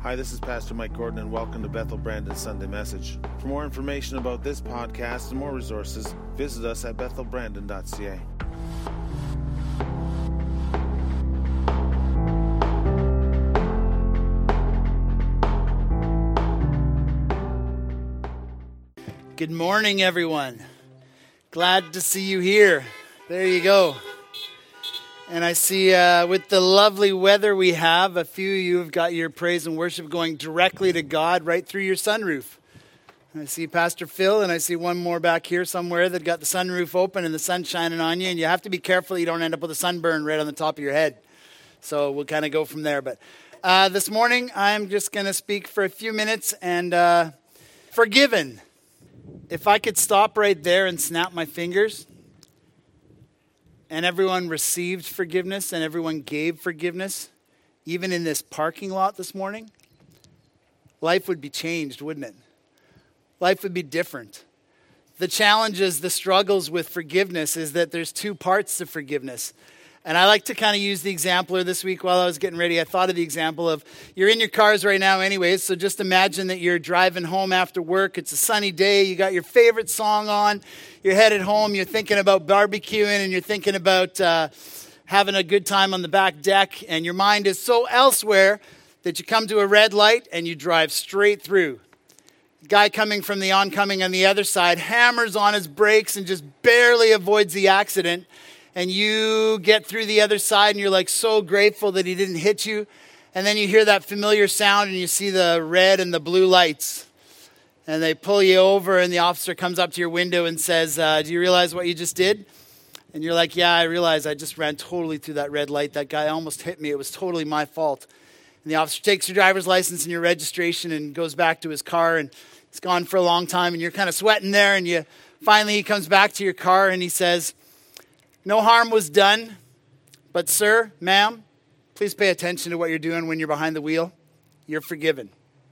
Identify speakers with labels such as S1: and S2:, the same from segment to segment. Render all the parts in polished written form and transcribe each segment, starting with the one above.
S1: Hi, this is Pastor Mike Gordon, and welcome to Bethel Brandon Sunday Message. For more information about this podcast and more resources, visit us at bethelbrandon.ca.
S2: Good morning, everyone. Glad to see you here. There you go. And I see with the lovely weather we have, a few of you have got your praise and worship going directly to God right through your sunroof. And I see Pastor Phil, and I see one more back here somewhere that got the sunroof open and the sun shining on you. And you have to be careful you don't end up with a sunburn right on the top of your head. So we'll kind of go from there. But this morning, I'm just going to speak for a few minutes and forgiven. If I could stop right there and snap my fingers, and everyone received forgiveness and everyone gave forgiveness, even in this parking lot this morning, life would be changed, wouldn't it? Life would be different. The challenges, the struggles with forgiveness is that there's two parts to forgiveness. And I like to kind of use the example this week while I was getting ready. I thought of the example of you're in your cars right now anyways, so just imagine that you're driving home after work. It's a sunny day. You got your favorite song on. You're headed home. You're thinking about barbecuing and you're thinking about having a good time on the back deck. And your mind is so elsewhere that you come to a red light and you drive straight through. The guy coming from the oncoming on the other side hammers on his brakes and just barely avoids the accident. And you get through the other side and you're like so grateful that he didn't hit you. And then you hear that familiar sound and you see the red and the blue lights. And they pull you over and the officer comes up to your window and says, do you realize what you just did? And you're like, yeah, I realize I just ran totally through that red light. That guy almost hit me. It was totally my fault. And the officer takes your driver's license and your registration and goes back to his car. And it's gone for a long time and you're kind of sweating there. And finally he comes back to your car and he says, no harm was done, but sir, ma'am, please pay attention to what you're doing when you're behind the wheel. You're forgiven.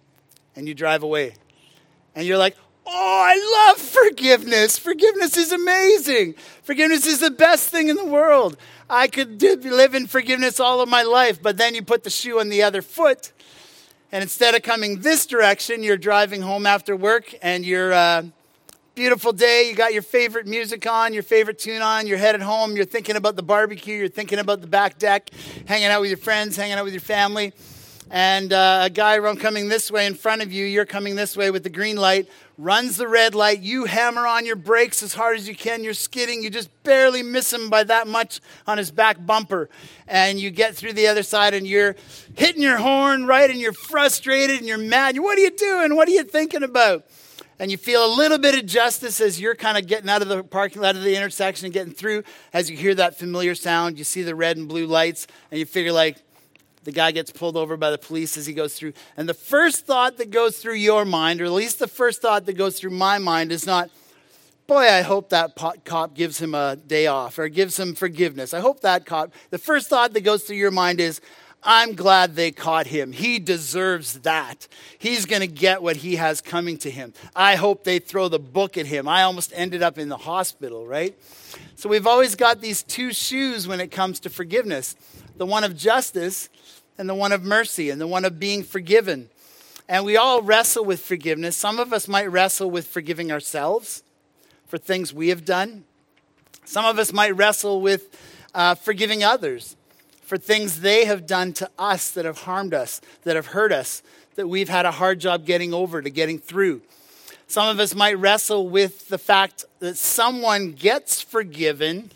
S2: And you drive away. And you're like, oh, I love forgiveness. Forgiveness is amazing. Forgiveness is the best thing in the world. I could live in forgiveness all of my life, but then you put the shoe on the other foot. And instead of coming this direction, you're driving home after work and you're beautiful day, you got your favorite music on, your favorite tune on, you're headed home, you're thinking about the barbecue, you're thinking about the back deck, hanging out with your friends, hanging out with your family, and a guy coming this way in front of you, you're coming this way with the green light, runs the red light, you hammer on your brakes as hard as you can, you're skidding, you just barely miss him by that much on his back bumper, and you get through the other side and you're hitting your horn, right, and you're frustrated and you're mad. What are you doing? What are you thinking about? And you feel a little bit of justice as you're kind of getting out of the parking lot of the intersection and getting through. As you hear that familiar sound, you see the red and blue lights, and you figure like the guy gets pulled over by the police as he goes through. And the first thought that goes through your mind, or at least the first thought that goes through my mind is not, boy, I hope that cop gives him a day off or gives him forgiveness. I hope that cop. The first thought that goes through your mind is, I'm glad they caught him. He deserves that. He's going to get what he has coming to him. I hope they throw the book at him. I almost ended up in the hospital, right? So we've always got these two shoes when it comes to forgiveness. The one of justice and the one of mercy and the one of being forgiven. And we all wrestle with forgiveness. Some of us might wrestle with forgiving ourselves for things we have done. Some of us might wrestle with forgiving others for things they have done to us that have harmed us, that have hurt us, that we've had a hard job getting over, to getting through. Some of us might wrestle with the fact that someone gets forgiven,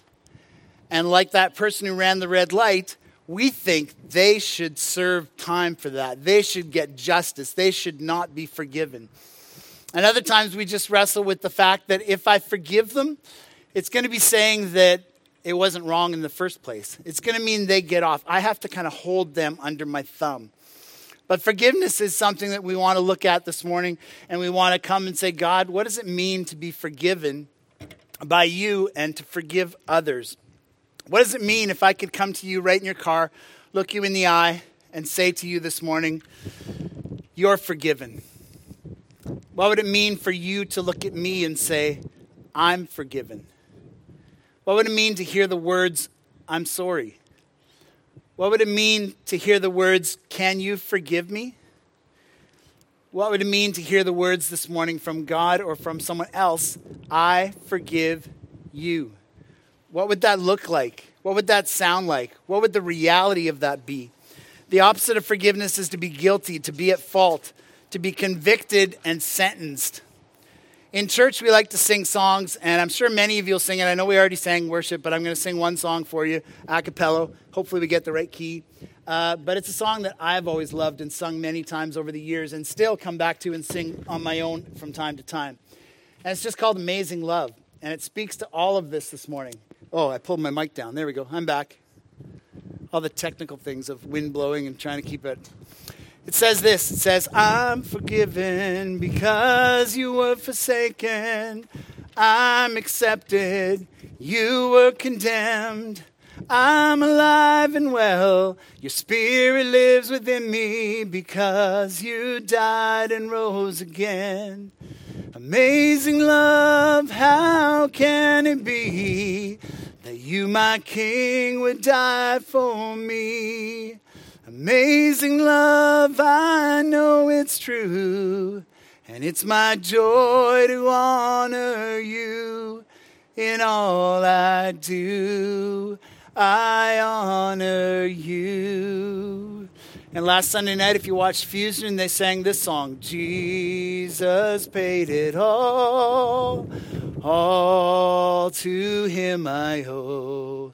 S2: and like that person who ran the red light, we think they should serve time for that. They should get justice. They should not be forgiven. And other times we just wrestle with the fact that if I forgive them, it's going to be saying that it wasn't wrong in the first place. It's going to mean they get off. I have to kind of hold them under my thumb. But forgiveness is something that we want to look at this morning, and we want to come and say, God, what does it mean to be forgiven by you and to forgive others? What does it mean if I could come to you right in your car, look you in the eye, and say to you this morning, you're forgiven? What would it mean for you to look at me and say, I'm forgiven? What would it mean to hear the words, I'm sorry? What would it mean to hear the words, can you forgive me? What would it mean to hear the words this morning from God or from someone else? I forgive you. What would that look like? What would that sound like? What would the reality of that be? The opposite of forgiveness is to be guilty, to be at fault, to be convicted and sentenced. In church, we like to sing songs, and I'm sure many of you will sing it. I know we already sang worship, but I'm going to sing one song for you, a cappella. Hopefully we get the right key. But it's a song that I've always loved and sung many times over the years and still come back to and sing on my own from time to time. And it's just called Amazing Love, and it speaks to all of this morning. Oh, I pulled my mic down. There we go. I'm back. All the technical things of wind blowing and trying to keep it. It says this. It says, I'm forgiven because you were forsaken. I'm accepted. You were condemned. I'm alive and well. Your spirit lives within me because you died and rose again. Amazing love, how can it be that you, my King, would die for me? Amazing love, I know it's true, and it's my joy to honor you. In all I do, I honor you. And last Sunday night, if you watched Fusion, they sang this song, Jesus paid it all to him I owe.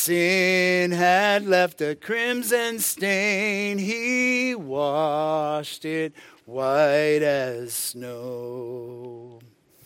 S2: Sin had left a crimson stain, he washed it white as snow.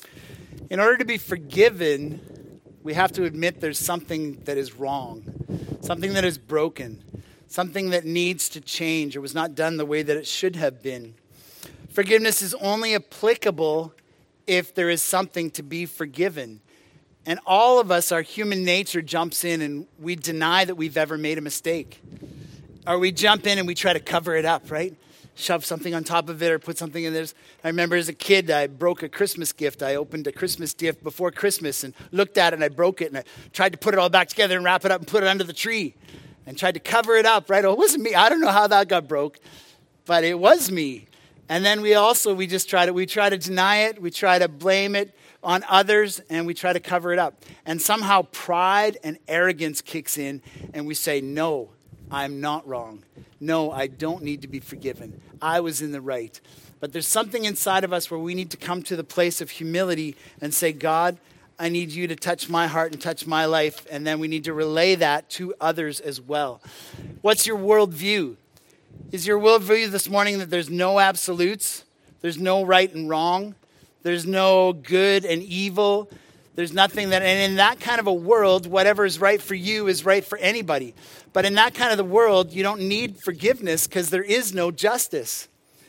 S2: In order to be forgiven, we have to admit there's something that is wrong, something that is broken, something that needs to change or was not done the way that it should have been. Forgiveness is only applicable if there is something to be forgiven. And all of us, our human nature jumps in and we deny that we've ever made a mistake. Or we jump in and we try to cover it up, right? Shove something on top of it or put something in there. I remember as a kid, I broke a Christmas gift. I opened a Christmas gift before Christmas and looked at it and I broke it and I tried to put it all back together and wrap it up and put it under the tree and tried to cover it up, right? Oh, it wasn't me. I don't know how that got broke, but it was me. And then we try to deny it. We try to blame it on others and we try to cover it up. And somehow pride and arrogance kicks in and we say, no, I'm not wrong. No, I don't need to be forgiven. I was in the right. But there's something inside of us where we need to come to the place of humility and say, God, I need you to touch my heart and touch my life. And then we need to relay that to others as well. What's your worldview? Is your worldview this morning that there's no absolutes? There's no right and wrong? There's no good and evil? There's nothing that, and in that kind of a world, whatever is right for you is right for anybody. But in that kind of the world, you don't need forgiveness because there is no justice.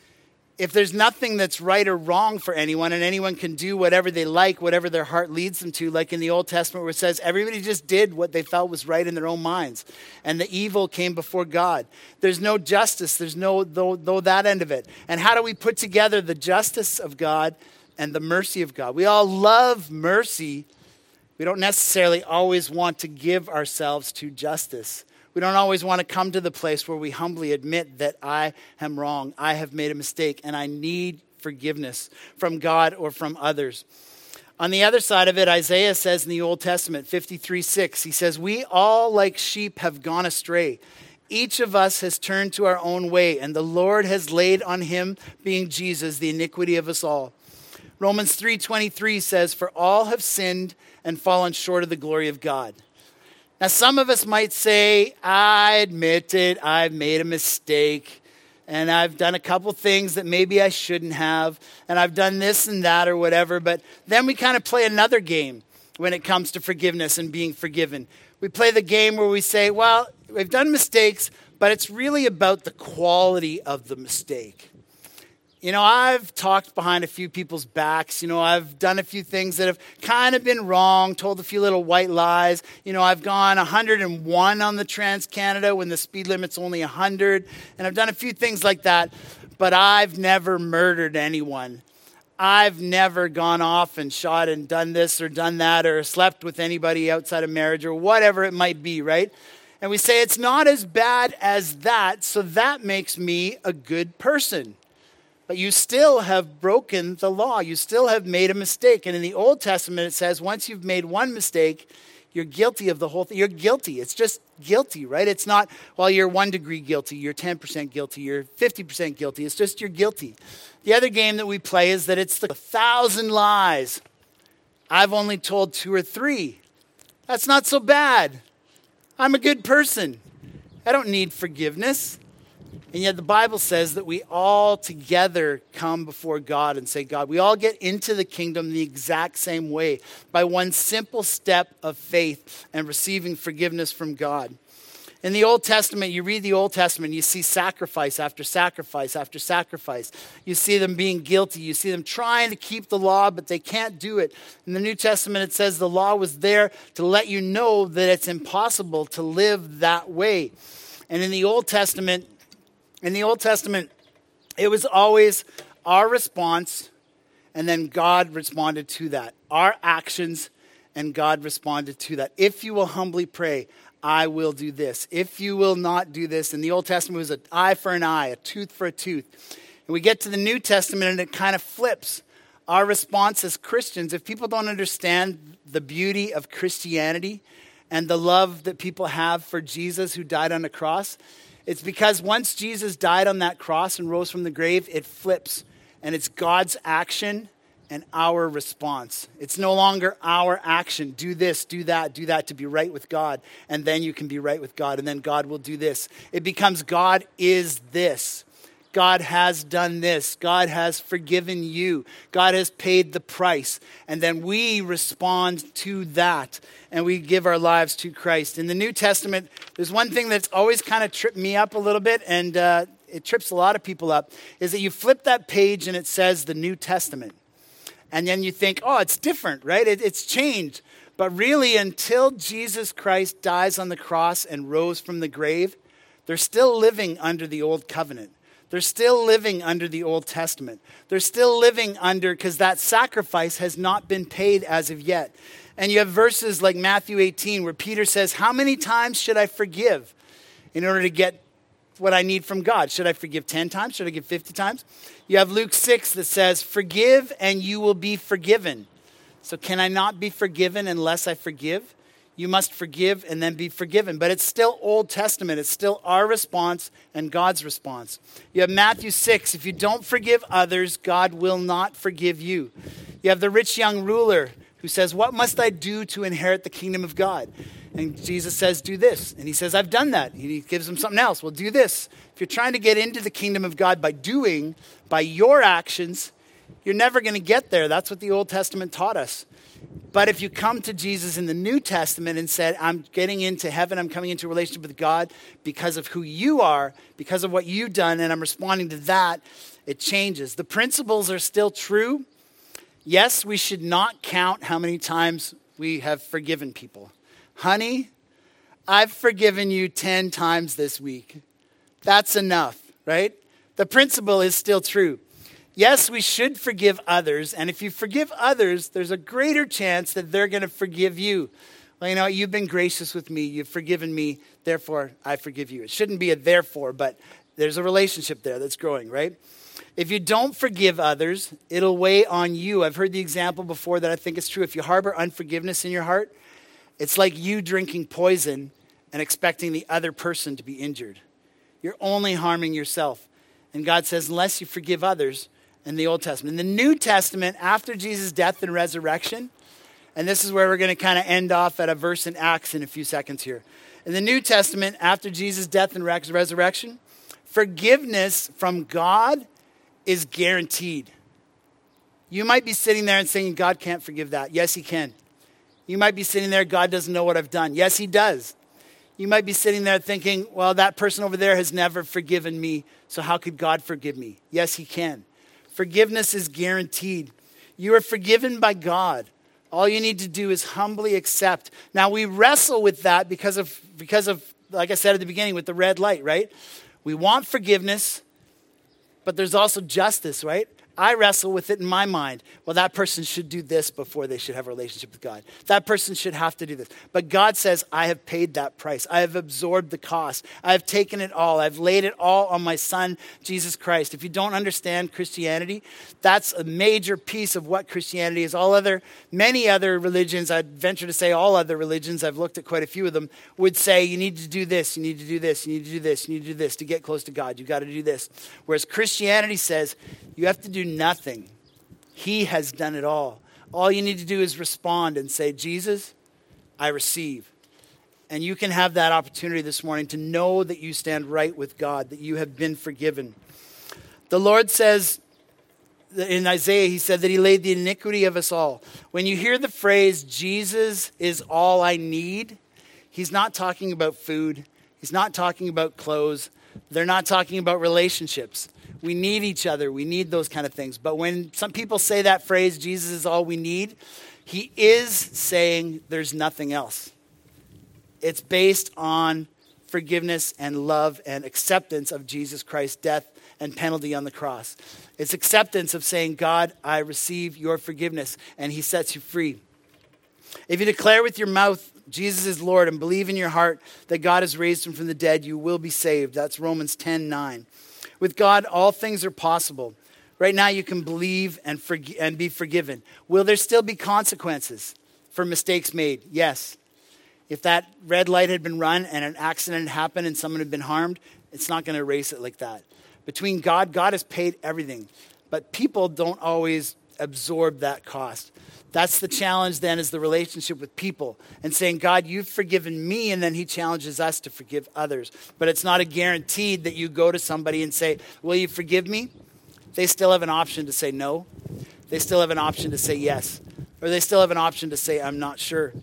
S2: If there's nothing that's right or wrong for anyone, and anyone can do whatever they like, whatever their heart leads them to, like in the Old Testament where it says everybody just did what they felt was right in their own minds, and the evil came before God. There's no justice. There's no that end of it. And how do we put together the justice of God and the mercy of God? We all love mercy. We don't necessarily always want to give ourselves to justice. We don't always want to come to the place where we humbly admit that I am wrong, I have made a mistake, and I need forgiveness from God or from others. On the other side of it, Isaiah says in the Old Testament, 53:6, he says, we all like sheep have gone astray. Each of us has turned to our own way, and the Lord has laid on him, being Jesus, the iniquity of us all. Romans 3:23 says, for all have sinned and fallen short of the glory of God. Now, some of us might say, I admit it, I've made a mistake, and I've done a couple things that maybe I shouldn't have, and I've done this and that or whatever, but then we kind of play another game when it comes to forgiveness and being forgiven. We play the game where we say, well, we've done mistakes, but it's really about the quality of the mistake. You know, I've talked behind a few people's backs. You know, I've done a few things that have kind of been wrong, told a few little white lies. You know, I've gone 101 on the Trans-Canada when the speed limit's only 100. And I've done a few things like that, but I've never murdered anyone. I've never gone off and shot and done this or done that or slept with anybody outside of marriage or whatever it might be, right? And we say it's not as bad as that, so that makes me a good person. but you still have broken the law. You still have made a mistake. And in the Old Testament, it says once you've made one mistake, you're guilty of the whole thing. You're guilty. It's just guilty, right? It's not, well, you're 1 degree guilty, you're 10% guilty, you're 50% guilty. It's just you're guilty. The other game that we play is that it's the 1,000 lies. I've only told 2 or 3. That's not so bad. I'm a good person. I don't need forgiveness. And yet the Bible says that we all together come before God and say, God, we all get into the kingdom the exact same way by one simple step of faith and receiving forgiveness from God. In the Old Testament, you read the Old Testament, you see sacrifice after sacrifice after sacrifice. You see them being guilty. You see them trying to keep the law, but they can't do it. In the New Testament, it says the law was there to let you know that it's impossible to live that way. And in the Old Testament, it was always our response, and then God responded to that. Our actions, and God responded to that. If you will humbly pray, I will do this. If you will not do this. In the Old Testament, it was an eye for an eye, a tooth for a tooth. And we get to the New Testament, and it kind of flips. Our response as Christians, if people don't understand the beauty of Christianity and the love that people have for Jesus who died on the cross, it's because once Jesus died on that cross and rose from the grave, it flips. And it's God's action and our response. It's no longer our action. Do this, do that to be right with God. And then you can be right with God. And then God will do this. It becomes God is this. God has done this. God has forgiven you. God has paid the price. And then we respond to that. And we give our lives to Christ. In the New Testament, there's one thing that's always kind of tripped me up a little bit. And it trips a lot of people up. Is that you flip that page and it says the New Testament. And then you think, oh, it's different, right? It's changed. But really, until Jesus Christ dies on the cross and rose from the grave, they're still living under the old covenant. They're still living under the Old Testament. They're still living under, because that sacrifice has not been paid as of yet. And you have verses like Matthew 18 where Peter says, how many times should I forgive in order to get what I need from God? Should I forgive 10 times? Should I give 50 times? You have Luke 6 that says, forgive and you will be forgiven. So can I not be forgiven unless I forgive? You must forgive and then be forgiven. But it's still Old Testament. It's still our response and God's response. You have Matthew 6. If you don't forgive others, God will not forgive you. You have the rich young ruler who says, what must I do to inherit the kingdom of God? And Jesus says, do this. And he says, I've done that. He gives him something else. Well, do this. If you're trying to get into the kingdom of God by your actions, you're never going to get there. That's what the Old Testament taught us. But if you come to Jesus in the New Testament and said, I'm getting into heaven, I'm coming into a relationship with God because of who you are, because of what you've done, and I'm responding to that, it changes. The principles are still true. Yes, we should not count how many times we have forgiven people. Honey, I've forgiven you 10 times this week. That's enough, right? The principle is still true. Yes, we should forgive others. And if you forgive others, there's a greater chance that they're going to forgive you. Well, you know, you've been gracious with me. You've forgiven me. Therefore, I forgive you. It shouldn't be a therefore, but there's a relationship there that's growing, right? If you don't forgive others, it'll weigh on you. I've heard the example before that I think is true. If you harbor unforgiveness in your heart, it's like you drinking poison and expecting the other person to be injured. You're only harming yourself. And God says, unless you forgive others, in the Old Testament. In the New Testament, after Jesus' death and resurrection, and this is where we're going to kind of end off at a verse in Acts in a few seconds here. In the New Testament, after Jesus' death and resurrection, forgiveness from God is guaranteed. You might be sitting there and saying, God can't forgive that. Yes, he can. You might be sitting there, God doesn't know what I've done. Yes, he does. You might be sitting there thinking, well, that person over there has never forgiven me, so how could God forgive me? Yes, he can. Forgiveness is guaranteed. You are forgiven by God. All you need to do is humbly accept. Now, we wrestle with that because of, like I said at the beginning, with the red light, right? We want forgiveness, but there's also justice, right? I wrestle with it in my mind. Well, that person should do this before they should have a relationship with God. That person should have to do this. But God says, I have paid that price. I have absorbed the cost. I have taken it all. I've laid it all on my son, Jesus Christ. If you don't understand Christianity, that's a major piece of what Christianity is. Many other religions, I'd venture to say all other religions, I've looked at quite a few of them, would say you need to do this, you need to do this, you need to do this, you need to do this to get close to God. You've got to do this. Whereas Christianity says you have to do nothing. He has done it all. All you need to do is respond and say, Jesus, I receive. And you can have that opportunity this morning to know that you stand right with God, that you have been forgiven. The Lord says in Isaiah, he said that he laid the iniquity of us all. When you hear the phrase, Jesus is all I need, he's not talking about food. He's not talking about clothes. They're not talking about relationships. We need each other. We need those kind of things. But when some people say that phrase, Jesus is all we need, he is saying there's nothing else. It's based on forgiveness and love and acceptance of Jesus Christ's death and penalty on the cross. It's acceptance of saying, God, I receive your forgiveness, and he sets you free. If you declare with your mouth Jesus is Lord and believe in your heart that God has raised him from the dead, you will be saved. That's Romans 10:9. With God, all things are possible. Right now, you can believe and be forgiven. Will there still be consequences for mistakes made? Yes. If that red light had been run and an accident happened and someone had been harmed, it's not going to erase it like that. Between God has paid everything. But people don't always absorb that cost. That's the challenge then, is the relationship with people and saying, God, you've forgiven me, and then he challenges us to forgive others. But it's not a guaranteed that you go to somebody and say, will you forgive me? They still have an option to say no. They still have an option to say yes. Or they still have an option to say, I'm not sure.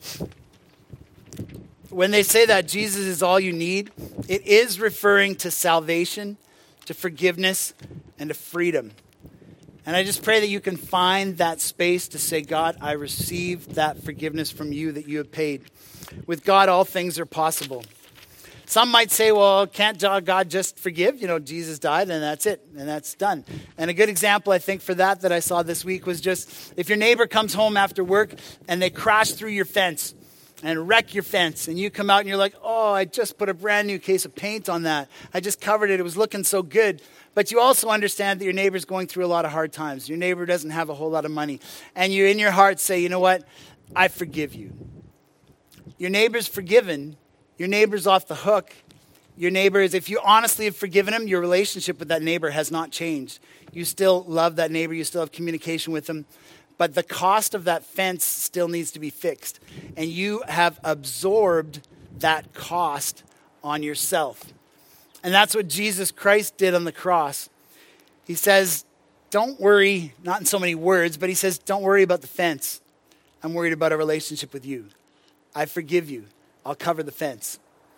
S2: When they say that Jesus is all you need, it is referring to salvation, to forgiveness, and to freedom. And I just pray that you can find that space to say, God, I receive that forgiveness from you that you have paid. With God, all things are possible. Some might say, well, can't God just forgive? Jesus died and that's it, and that's done. And a good example, I think, for that I saw this week was just if your neighbor comes home after work and they crash through your fence and wreck your fence, and you come out and you're like, oh, I just put a brand new case of paint on that. I just covered it. It was looking so good. But you also understand that your neighbor's going through a lot of hard times. Your neighbor doesn't have a whole lot of money. And you, in your heart, say, you know what? I forgive you. Your neighbor's forgiven. Your neighbor's off the hook. Your neighbor is, if you honestly have forgiven him, your relationship with that neighbor has not changed. You still love that neighbor. You still have communication with him. But the cost of that fence still needs to be fixed. And you have absorbed that cost on yourself. And that's what Jesus Christ did on the cross. He says, don't worry, not in so many words, but he says, don't worry about the fence. I'm worried about a relationship with you. I forgive you. I'll cover the fence.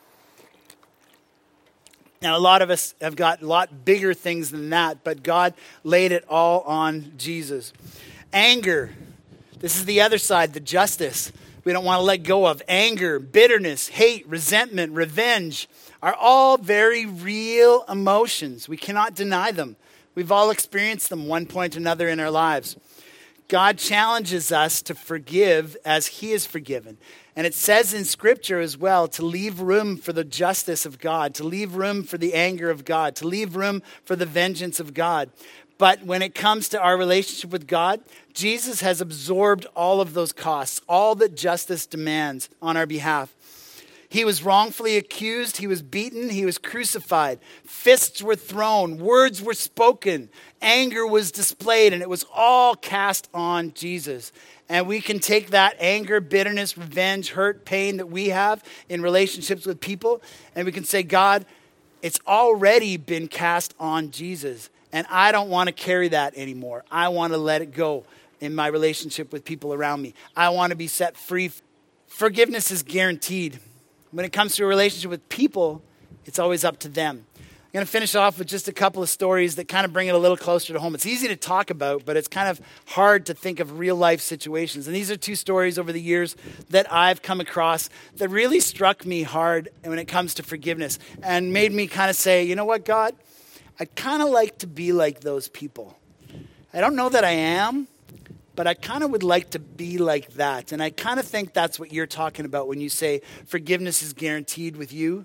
S2: Now, a lot of us have got a lot bigger things than that, but God laid it all on Jesus. Anger. This is the other side, the justice we don't want to let go of. Anger, bitterness, hate, resentment, revenge are all very real emotions. We cannot deny them. We've all experienced them one point or another in our lives. God challenges us to forgive as he is forgiven. And it says in Scripture as well to leave room for the justice of God, to leave room for the anger of God, to leave room for the vengeance of God. But when it comes to our relationship with God, Jesus has absorbed all of those costs, all that justice demands on our behalf. He was wrongfully accused. He was beaten. He was crucified. Fists were thrown. Words were spoken. Anger was displayed. And it was all cast on Jesus. And we can take that anger, bitterness, revenge, hurt, pain that we have in relationships with people. And we can say, God, it's already been cast on Jesus. And I don't want to carry that anymore. I want to let it go in my relationship with people around me. I want to be set free. Forgiveness is guaranteed. When it comes to a relationship with people, it's always up to them. I'm going to finish off with just a couple of stories that kind of bring it a little closer to home. It's easy to talk about, but it's kind of hard to think of real life situations. And these are two stories over the years that I've come across that really struck me hard when it comes to forgiveness and made me kind of say, you know what, God? I'd kind of like to be like those people. I don't know that I am, but I kind of would like to be like that. And I kind of think that's what you're talking about when you say forgiveness is guaranteed with you,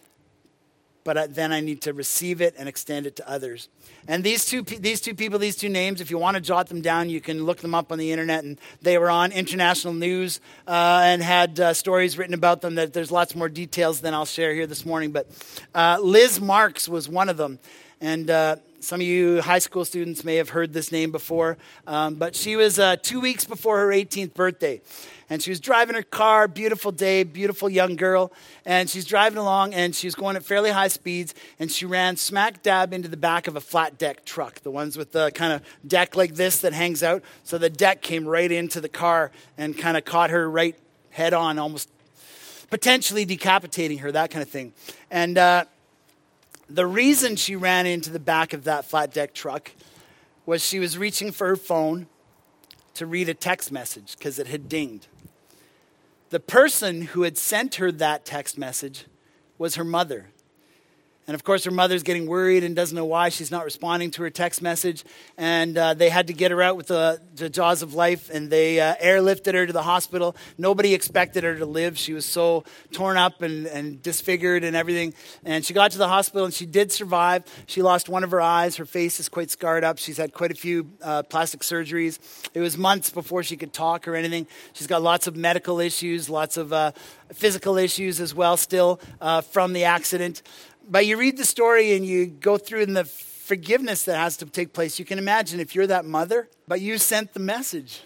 S2: but then I need to receive it and extend it to others. And these two people, these two names, if you want to jot them down, you can look them up on the internet. And they were on international news and had stories written about them. That there's lots more details than I'll share here this morning. But Liz Marks was one of them. And some of you high school students may have heard this name before. But she was 2 weeks before her 18th birthday. And she was driving her car, beautiful day, beautiful young girl. And she's driving along, and she was going at fairly high speeds. And she ran smack dab into the back of a flat deck truck, the ones with the kind of deck like this that hangs out. So the deck came right into the car and kind of caught her right head on, almost potentially decapitating her, that kind of thing. And the reason she ran into the back of that flat deck truck was she was reaching for her phone to read a text message because it had dinged. The person who had sent her that text message was her mother. And of course, her mother's getting worried and doesn't know why she's not responding to her text message. And they had to get her out with the jaws of life, and they airlifted her to the hospital. Nobody expected her to live. She was so torn up and disfigured and everything. And she got to the hospital, and she did survive. She lost one of her eyes. Her face is quite scarred up. She's had quite a few plastic surgeries. It was months before she could talk or anything. She's got lots of medical issues, lots of physical issues as well still from the accident. But you read the story and you go through in the forgiveness that has to take place. You can imagine if you're that mother, but you sent the message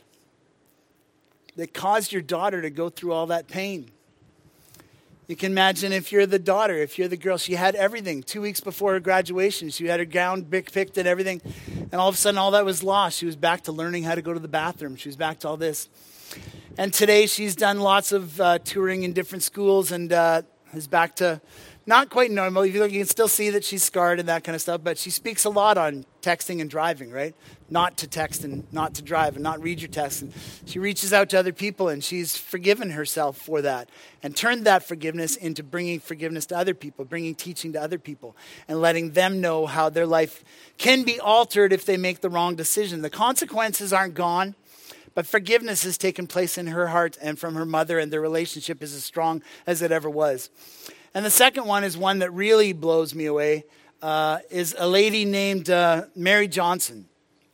S2: that caused your daughter to go through all that pain. You can imagine if you're the daughter, if you're the girl. She had everything. 2 weeks before her graduation, she had her gown picked and everything. And all of a sudden, all that was lost. She was back to learning how to go to the bathroom. She was back to all this. And today, she's done lots of touring in different schools and is back to not quite normal. You can still see that she's scarred and that kind of stuff, but she speaks a lot on texting and driving, right? Not to text and not to drive and not read your text. And she reaches out to other people, and she's forgiven herself for that and turned that forgiveness into bringing forgiveness to other people, bringing teaching to other people, and letting them know how their life can be altered if they make the wrong decision. The consequences aren't gone, but forgiveness has taken place in her heart and from her mother, and their relationship is as strong as it ever was. And the second one is one that really blows me away, is a lady named Mary Johnson.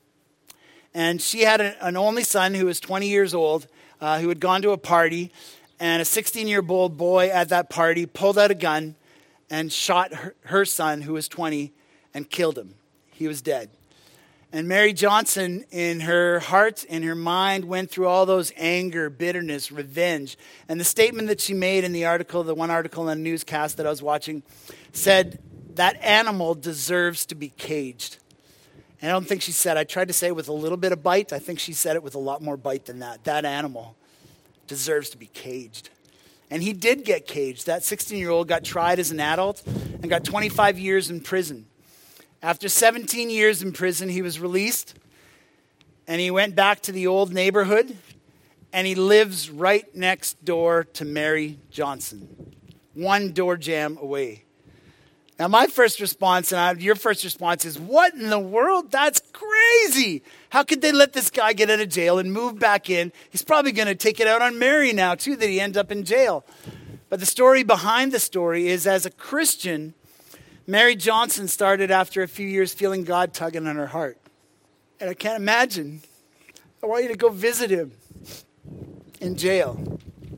S2: And she had an only son who was 20 years old, who had gone to a party, and a 16-year-old boy at that party pulled out a gun and shot her son, who was 20, and killed him. He was dead. And Mary Johnson, in her heart, in her mind, went through all those anger, bitterness, revenge. And the statement that she made in the article, the one article in the newscast that I was watching, said, that animal deserves to be caged. And I don't think she said, I tried to say it with a little bit of bite. I think she said it with a lot more bite than that. That animal deserves to be caged. And he did get caged. That 16-year-old got tried as an adult and got 25 years in prison. After 17 years in prison, he was released, and he went back to the old neighborhood, and he lives right next door to Mary Johnson, one door jam away. Now, my first response, and your first response is, what in the world? That's crazy. How could they let this guy get out of jail and move back in? He's probably going to take it out on Mary now, too, that he ends up in jail. But the story behind the story is, as a Christian, Mary Johnson started after a few years feeling God tugging on her heart. And I can't imagine. I want you to go visit him in jail.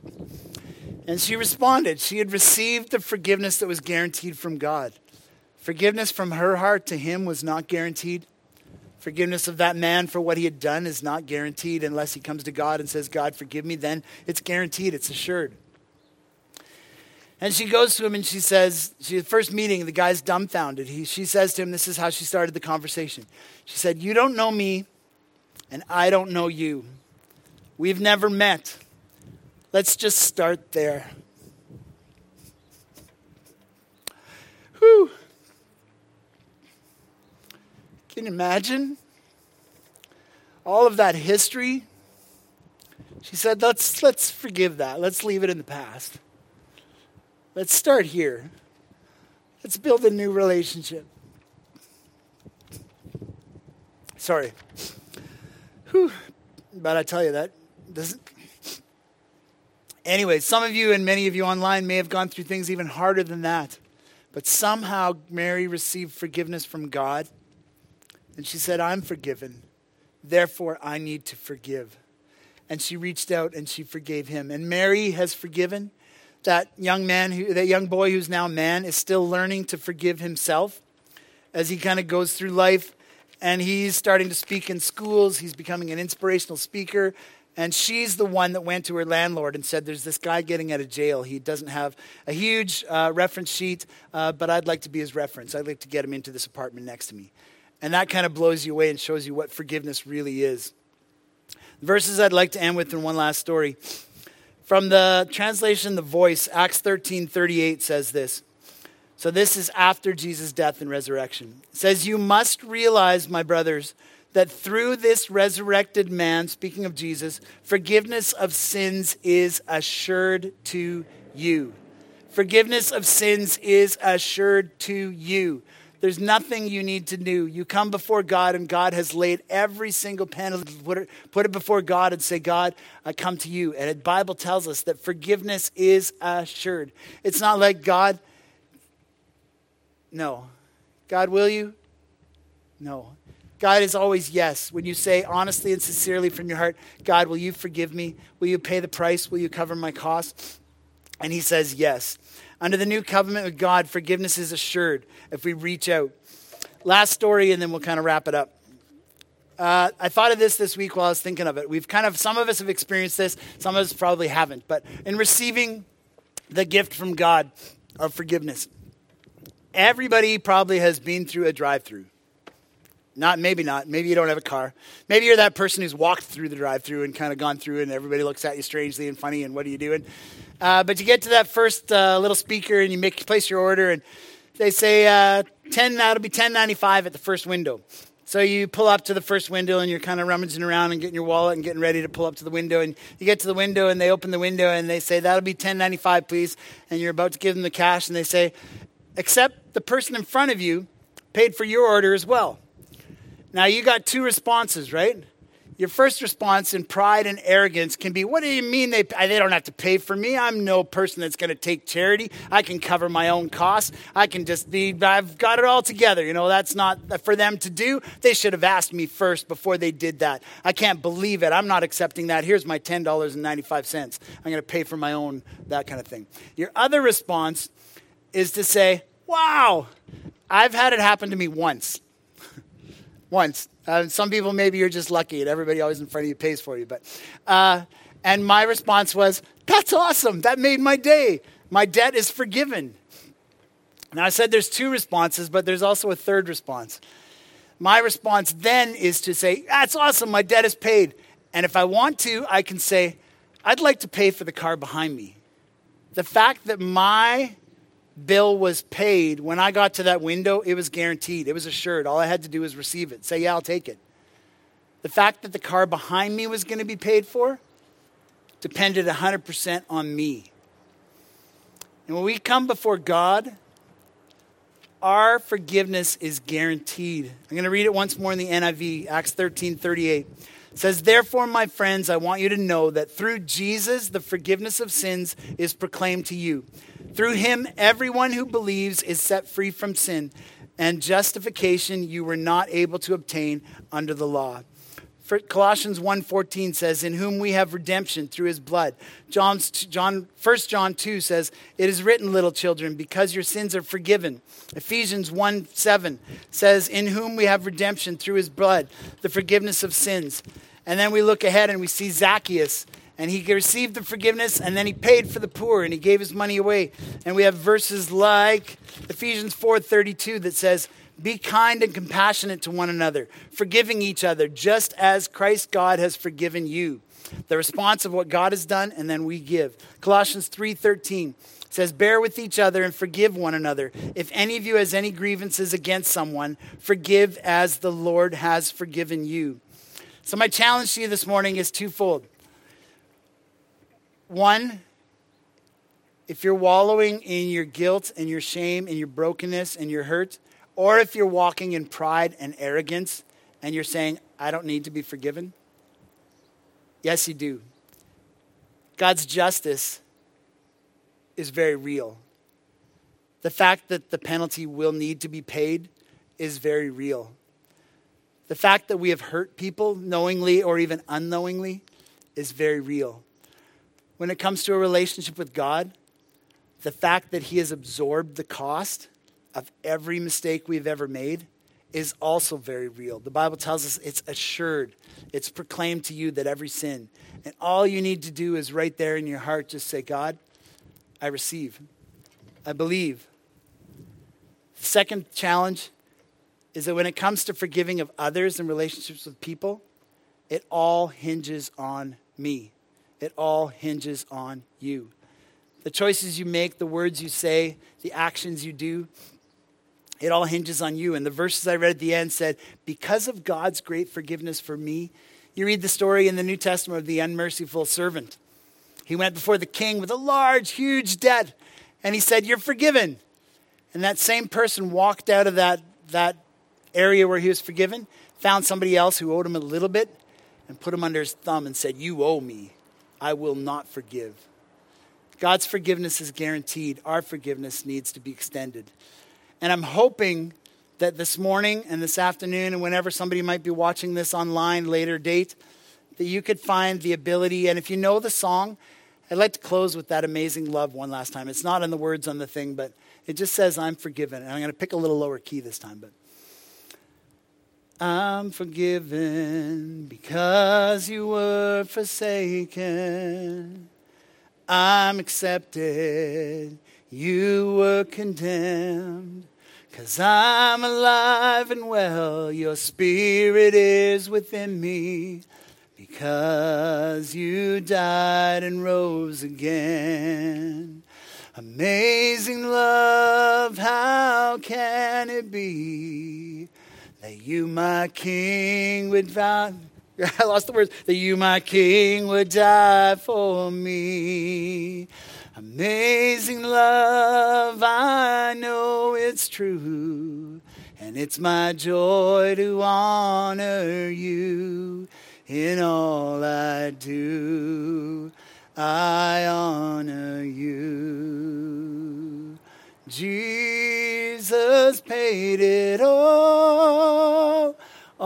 S2: And she responded. She had received the forgiveness that was guaranteed from God. Forgiveness from her heart to him was not guaranteed. Forgiveness of that man for what he had done is not guaranteed unless he comes to God and says, God, forgive me. Then it's guaranteed. It's assured. And she goes to him and she says, the first meeting, the guy's dumbfounded. She says to him, this is how she started the conversation. She said, you don't know me and I don't know you. We've never met. Let's just start there. Whew. Can you imagine all of that history? She said, let's forgive that. Let's leave it in the past. Let's start here. Let's build a new relationship. Sorry. But I tell you that doesn't. Anyway, some of you and many of you online may have gone through things even harder than that. But somehow Mary received forgiveness from God. And she said, I'm forgiven. Therefore, I need to forgive. And she reached out and she forgave him. And Mary has forgiven. That young boy who's now a man is still learning to forgive himself as he kind of goes through life. And he's starting to speak in schools. He's becoming an inspirational speaker. And she's the one that went to her landlord and said, there's this guy getting out of jail. He doesn't have a huge reference sheet, but I'd like to be his reference. I'd like to get him into this apartment next to me. And that kind of blows you away and shows you what forgiveness really is. The verses I'd like to end with in one last story. From the translation, The Voice, Acts 13:38 says this. So this is after Jesus' death and resurrection. It says, you must realize, my brothers, that through this resurrected man, speaking of Jesus, forgiveness of sins is assured to you. Forgiveness of sins is assured to you. There's nothing you need to do. You come before God and God has laid every single penalty, put it before God and say, God, I come to you. And the Bible tells us that forgiveness is assured. It's not like God, no. God, will you? No. God is always yes. When you say honestly and sincerely from your heart, God, will you forgive me? Will you pay the price? Will you cover my costs? And he says yes. Under the new covenant with God, forgiveness is assured if we reach out. Last story, and then we'll kind of wrap it up. I thought of this week while I was thinking of it. Some of us have experienced this, some of us probably haven't. But in receiving the gift from God of forgiveness, everybody probably has been through a drive-through. Maybe not. Maybe you don't have a car. Maybe you're that person who's walked through the drive-thru and kind of gone through and everybody looks at you strangely and funny and what are you doing? But you get to that first little speaker and you place your order and they say, that'll be $10.95 at the first window. So you pull up to the first window and you're kind of rummaging around and getting your wallet and getting ready to pull up to the window. And you get to the window and they open the window and they say, that'll be $10.95, please. And you're about to give them the cash and they say, except the person in front of you paid for your order as well. Now, you got two responses, right? Your first response in pride and arrogance can be, what do you mean they don't have to pay for me? I'm no person that's going to take charity. I can cover my own costs. I've got it all together. That's not for them to do. They should have asked me first before they did that. I can't believe it. I'm not accepting that. Here's my $10.95. I'm going to pay for my own, that kind of thing. Your other response is to say, wow, I've had it happen to me once. Once. Some people, maybe you're just lucky and everybody always in front of you pays for you. And my response was, that's awesome. That made my day. My debt is forgiven. Now I said there's two responses, but there's also a third response. My response then is to say, that's awesome. My debt is paid. And if I want to, I can say, I'd like to pay for the car behind me. The fact that my bill was paid, when I got to that window, it was guaranteed. It was assured. All I had to do was receive it. Say, yeah, I'll take it. The fact that the car behind me was going to be paid for depended 100% on me. And when we come before God, our forgiveness is guaranteed. I'm going to read it once more in the NIV, Acts 13:38. It says, therefore, my friends, I want you to know that through Jesus, the forgiveness of sins is proclaimed to you. Through him, everyone who believes is set free from sin, and justification you were not able to obtain under the law. Colossians 1:14 says, in whom we have redemption through his blood. 1 John 2 says, it is written, little children, because your sins are forgiven. Ephesians 1:7 says, in whom we have redemption through his blood, the forgiveness of sins. And then we look ahead and we see Zacchaeus, and he received the forgiveness, and then he paid for the poor, and he gave his money away. And we have verses like Ephesians 4:32 that says, be kind and compassionate to one another, forgiving each other, just as Christ God has forgiven you. The response of what God has done, and then we give. Colossians 3:13 says, bear with each other and forgive one another. If any of you has any grievances against someone, forgive as the Lord has forgiven you. So my challenge to you this morning is twofold. One, if you're wallowing in your guilt and your shame and your brokenness and your hurt, or if you're walking in pride and arrogance and you're saying, I don't need to be forgiven, Yes, you do. God's justice is very real. The fact that the penalty will need to be paid is very real. The fact that we have hurt people knowingly or even unknowingly is very real. When it comes to a relationship with God, the fact that he has absorbed the cost of every mistake we've ever made is also very real. The Bible tells us it's assured. It's proclaimed to you that every sin. And all you need to do is right there in your heart just say, God, I receive. I believe. The second challenge is that when it comes to forgiving of others and relationships with people, it all hinges on me. It all hinges on you. The choices you make, the words you say, the actions you do, it all hinges on you. And the verses I read at the end said, because of God's great forgiveness for me, you read the story in the New Testament of the unmerciful servant. He went before the king with a large, huge debt, and he said, you're forgiven. And that same person walked out of that area where he was forgiven, found somebody else who owed him a little bit, and put him under his thumb and said, you owe me. I will not forgive. God's forgiveness is guaranteed. Our forgiveness needs to be extended. And I'm hoping that this morning and this afternoon and whenever somebody might be watching this online later date, that you could find the ability. And if you know the song, I'd like to close with that Amazing Love one last time. It's not in the words on the thing, but it just says, I'm forgiven. And I'm going to pick a little lower key this time. But I'm forgiven because you were forsaken. I'm accepted. You were condemned. 'Cause I'm alive and well, your spirit is within me. Because you died and rose again. Amazing love, how can it be that you, my king, would vow... I lost the words. That you, my king, would die for me. Amazing love, I know it's true. And it's my joy to honor you. In all I do, I honor you. Jesus paid it all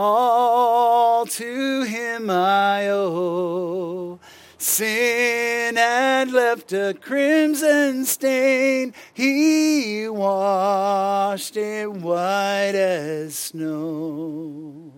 S2: to him I owe. Sin had left a crimson stain, he washed it white as snow.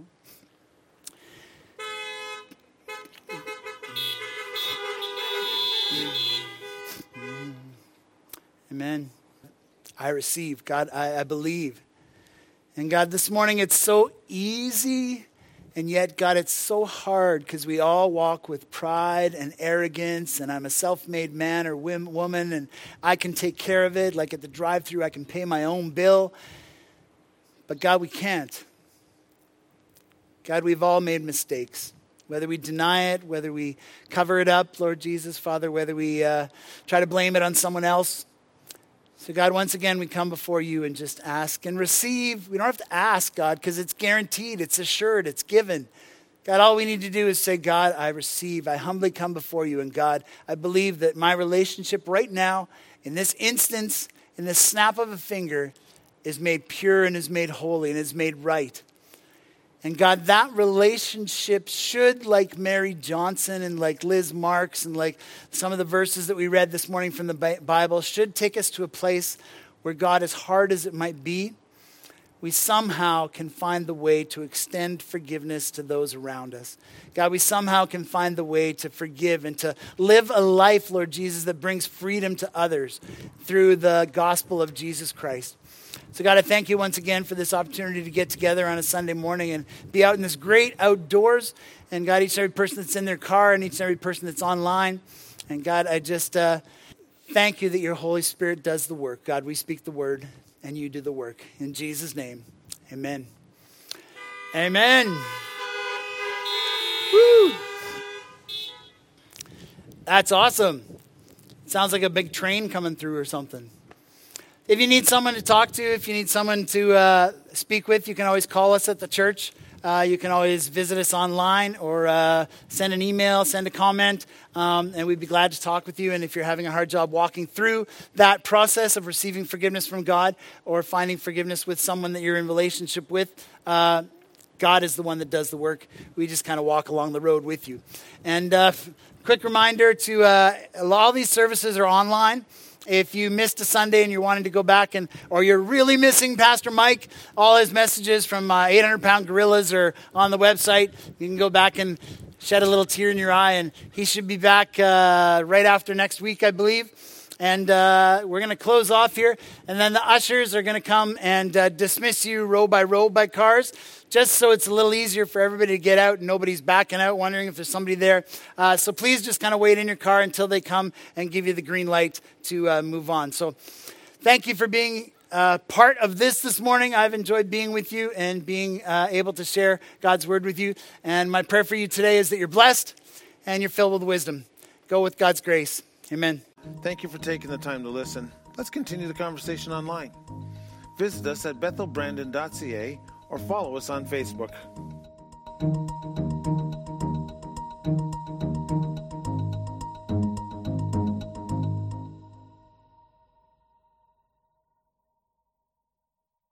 S2: Amen. I receive. God, I believe. And God, this morning it's so easy, and yet, God, it's so hard because we all walk with pride and arrogance, and I'm a self-made man or woman, and I can take care of it. Like at the drive-thru, I can pay my own bill. But God, we can't. God, we've all made mistakes. Whether we deny it, whether we cover it up, Lord Jesus, Father, whether we try to blame it on someone else. So God, once again, we come before you and just ask and receive. We don't have to ask, God, because it's guaranteed, it's assured, it's given. God, all we need to do is say, God, I receive. I humbly come before you. And God, I believe that my relationship right now, in this instance, in this snap of a finger, is made pure and is made holy and is made right. And God, that relationship should, like Mary Johnson and like Liz Marks and like some of the verses that we read this morning from the Bible, should take us to a place where God, as hard as it might be, we somehow can find the way to extend forgiveness to those around us. God, we somehow can find the way to forgive and to live a life, Lord Jesus, that brings freedom to others through the gospel of Jesus Christ. So God, I thank you once again for this opportunity to get together on a Sunday morning and be out in this great outdoors. And God, each and every person that's in their car and each and every person that's online. And God, I just thank you that your Holy Spirit does the work. God, we speak the word and you do the work. In Jesus' name, amen. Amen. Woo! That's awesome. Sounds like a big train coming through or something. If you need someone to talk to, if you need someone to speak with, you can always call us at the church. you can always visit us online or send an email, send a comment, and we'd be glad to talk with you. And if you're having a hard job walking through that process of receiving forgiveness from God or finding forgiveness with someone that you're in relationship with, God is the one that does the work. We just kind of walk along the road with you. And quick reminder to all these services are online. If you missed a Sunday and you're wanting to go back or you're really missing Pastor Mike, all his messages from 800-Pound Gorillas are on the website. You can go back and shed a little tear in your eye, and he should be back right after next week, I believe. And we're going to close off here, and then the ushers are going to come and dismiss you row by cars, just so it's a little easier for everybody to get out and nobody's backing out wondering if there's somebody there. So please just kind of wait in your car until they come and give you the green light to move on. So thank you for being part of this morning. I've enjoyed being with you and being able to share God's word with you. And my prayer for you today is that you're blessed and you're filled with wisdom. Go with God's grace. Amen.
S1: Thank you for taking the time to listen. Let's continue the conversation online. Visit us at bethelbrandon.ca or follow us on Facebook.